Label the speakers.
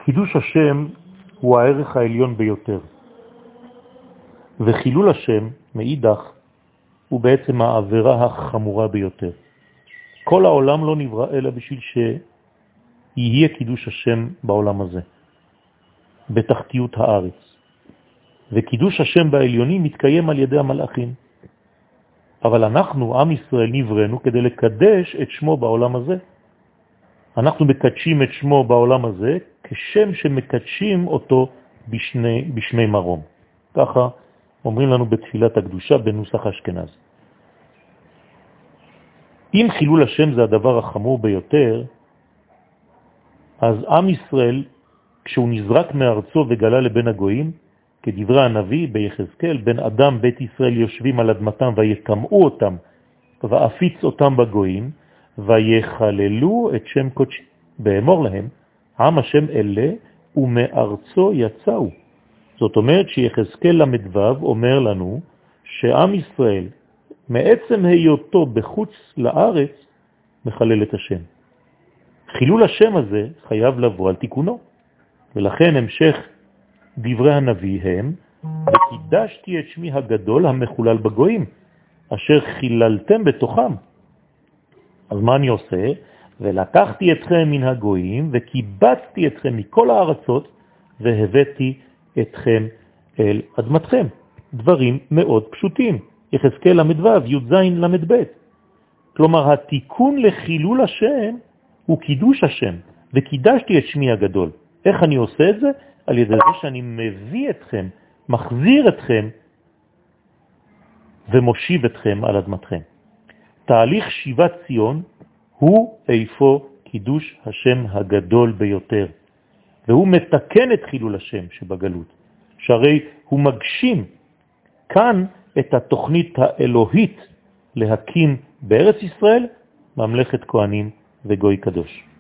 Speaker 1: קידוש השם הוא הערך העליון ביותר. וחילול השם, מאידך, הוא בעצם העבירה החמורה ביותר. כל העולם לא נברא אלא בשביל שיהיה קידוש השם בעולם הזה, בתחתיות הארץ. וקידוש השם בעליונים מתקיים על ידי המלאכים. אבל אנחנו, עם ישראל, נבראנו כדי לקדש את שמו בעולם הזה. אנחנו מקדשים את שמו בעולם הזה כשם שמקדשים אותו בשמי מרום. ככה אומרים לנו בתפילת הקדושה בנוסח אשכנז. אם חילול השם זה הדבר החמור ביותר, אז עם ישראל, כשהוא נזרק מארצו וגלה לבין הגויים, כדברי הנביא ביחזקאל, בן אדם בית ישראל יושבים על אדמתם ויקמאו אותם ואפיץ אותם בגויים ויחללו את שם קודשי. באמור להם, עם השם אלה ומארצו יצאו. זאת אומרת שיחזקאל למדבב אומר לנו שעם ישראל מעצם היותו בחוץ לארץ מחלל את השם. חילול השם הזה חייב לבוא על תיקונו. ולכן המשך דברי הנביא הם, וקידשתי את שמי הגדול המחולל בגויים, אשר חיללתם בתוכם. אז מה אני עושה? ולקחתי אתכם מן הגויים, וקיבצתי אתכם מכל הארצות, והבאתי אתכם אל אדמתכם. דברים מאוד פשוטים. יחזקאל למדבב, י"ז למדב'. כלומר, התיקון לחילול השם הוא קידוש השם, וקידשתי את שמי הגדול. איך אני עושה את זה? על ידי זה שאני מביא אתכם, מחזיר אתכם, ומושיב אתכם על אדמתכם. תהליך שיבת ציון הוא איפה קידוש השם הגדול ביותר. והוא מתקן את חילול השם שבגלות. שהרי הוא מגשים כאן את התוכנית האלוהית להקים בארץ ישראל ממלכת כהנים וגוי קדוש.